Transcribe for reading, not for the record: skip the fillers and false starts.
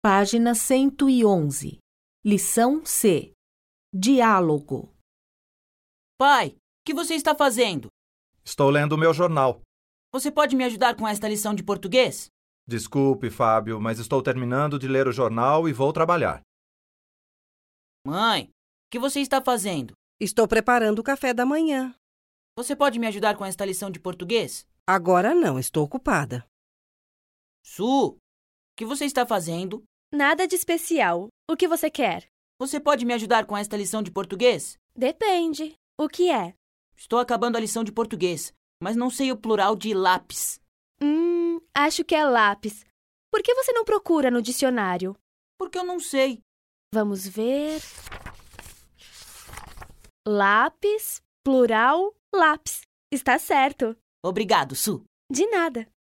Página 111. Lição C. Diálogo. Pai, o que você está fazendo? Estou lendo o meu jornal. Você pode me ajudar com esta lição de português? Desculpe, Fábio, mas estou terminando de ler o jornal e vou trabalhar. Mãe, o que você está fazendo? Estou preparando o café da manhã. Você pode me ajudar com esta lição de português? Agora não, estou ocupada. Su, o que você está fazendo? Nada de especial. O que você quer? Você pode me ajudar com esta lição de português? Depende. O que é? Estou acabando a lição de português, mas não sei o plural de lápis. Acho que é lápis. Por que você não procura no dicionário? Porque eu não sei. Vamos ver. Lápis, plural, lápis. Está certo. Obrigado, Su. De nada.